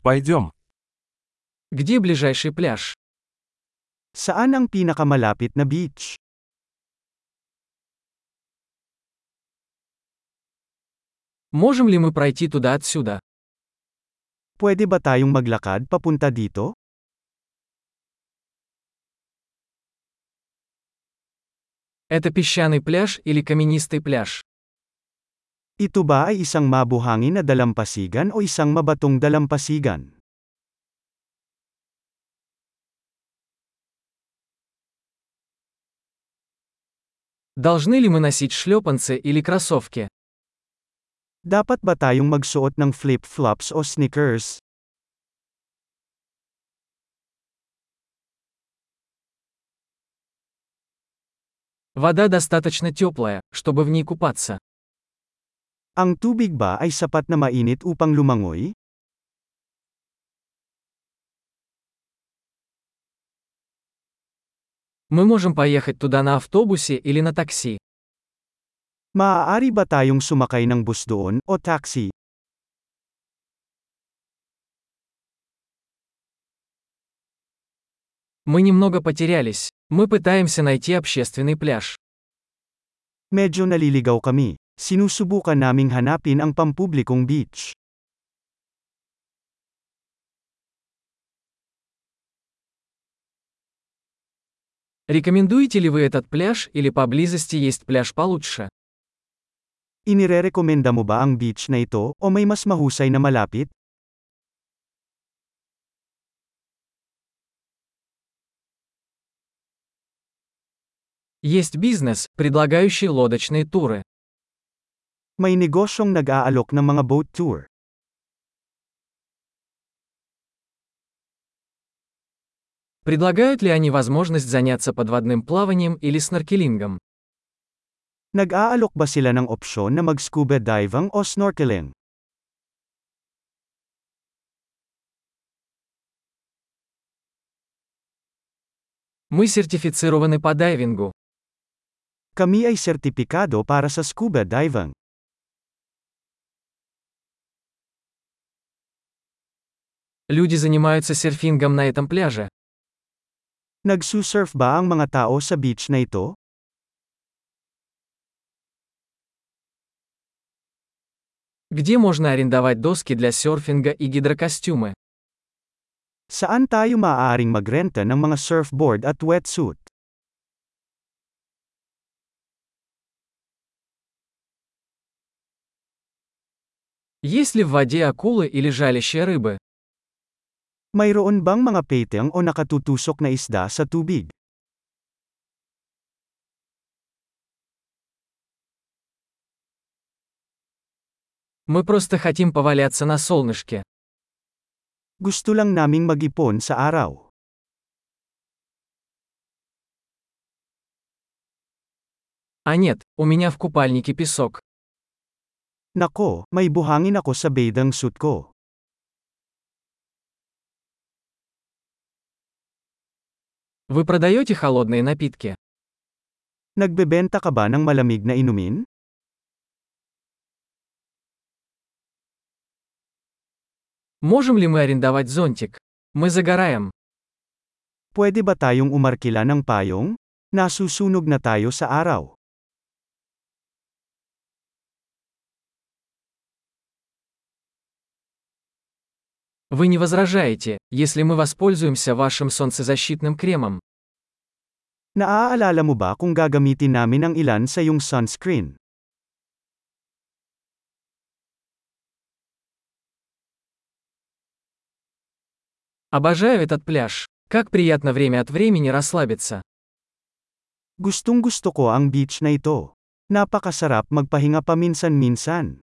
Пойдем. Где ближайший пляж? Saan ang pinakamalapit na beach? Можем ли мы пройти туда отсюда? Pwede ba tayong maglakad papunta dito? Это песчаный пляж или каменистый пляж? Ito ba ay isang mabuhangin na dalampasigan o isang mabatong dalampasigan? Должны ли мы носить шлепанцы или кроссовки? Dapat ba tayong magsuot ng flip-flops o sneakers? Вода достаточно теплая, чтобы в ней купаться. Ang tubig ba ay sapat na mainit upang lumangoy? Мы можем поехать туда на автобусе или на такси. Maaari ba tayong sumakay ng bus doon o taxi? Мы немного потерялись. Мы пытаемся найти общественный пляж. Medyo naliligaw kami. Sinusubukan naming hanapin ang pampublikong beach. Рекомендуете ли вы этот пляж или поблизости есть пляж получше? Inirerekomenda mo ba ang beach na ito o may mas mahusay na malapit? Есть бизнес, предлагающий лодочные туры. May negosyong nag-aalok ng mga boat tour. Предлагают ли они возможность заняться подводным плаванием или сноркелингом? Nag-aalok ba sila ng opsyon na mag-scuba diving o snorkeling? Мы сертифицированы по дайвингу. Kami ay sertipikado para sa scuba diving. Люди занимаются серфингом на этом пляже. Nagsusurf ba ang mga tao sa beach na ito? Где можно арендовать доски для серфинга и гидрокостюмы? Saan tayo maaaring magrenta ng mga surfboard at wetsuit? Есть ли в воде акулы или жалящие рыбы? Mayroon bang mga peteng o nakatutusok na isda sa tubig? Мы просто хотим поваляться на солнышке. Gusto lang naming mag-ipon sa araw. А нет, у меня в купальнике песок. Nako, may buhangin ako sa bathing suit ko. Вы продаете холодные напитки? Nagbebenta ka ba ng malamig na inumin? Можем ли мы арендовать зонтик? Мы загораем. Pwede ba tayong umarkila ng payong? Nasusunog na tayo sa araw. Вы не возражаете, если мы воспользуемся вашим солнцезащитным кремом? Naaalala mo ba kung gagamitin namin ang ilan sa iyong sunscreen? Обожаю этот пляж. Как приятно время от времени расслабиться. Gustong-gusto ko ang beach na ito. Napakasarap magpahinga paminsan-minsan.